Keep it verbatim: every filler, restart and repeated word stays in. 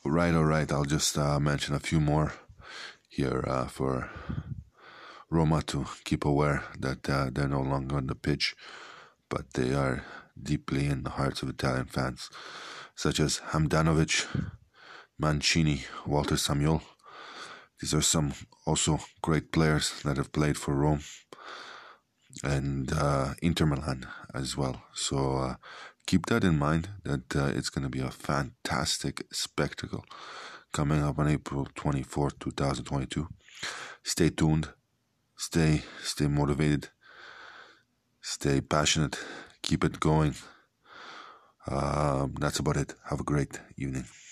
Right, all right. I'll just uh, mention a few more here uh, for Roma to keep aware that uh, they're no longer on the pitch, but they are deeply in the hearts of Italian fans, such as Hamdanovic, Mancini, Walter Samuel. These are some also great players that have played for Rome and uh, Inter Milan as well. So uh, keep that in mind, that uh, it's going to be a fantastic spectacle coming up on April twenty-fourth, twenty twenty-two. Stay tuned, stay, stay motivated, stay passionate, keep it going. Um, that's about it. Have a great evening.